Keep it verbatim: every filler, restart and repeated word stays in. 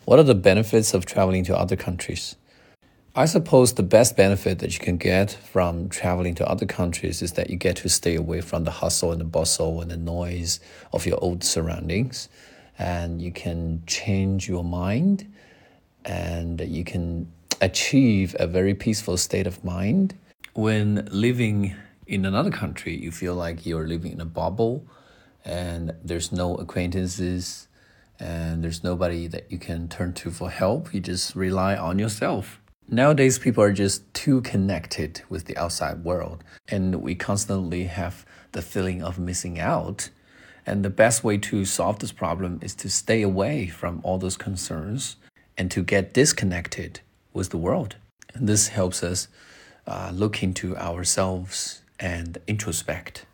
What are the benefits of traveling to other countries? I suppose the best benefit that you can get from traveling to other countries is that you get to stay away from the hustle and the bustle and the noise of your old surroundings. And you can change your mind and you can achieve a very peaceful state of mind. When living in another country, you feel like you're living in a bubble and there's no acquaintances and there's nobody that you can turn to for help. You just rely on yourself. Nowadays, people are just too connected with the outside world, and we constantly have the feeling of missing out. And the best way to solve this problem is to stay away from all those concerns and to get disconnected with the world. And this helps us uh, look into ourselves and introspect.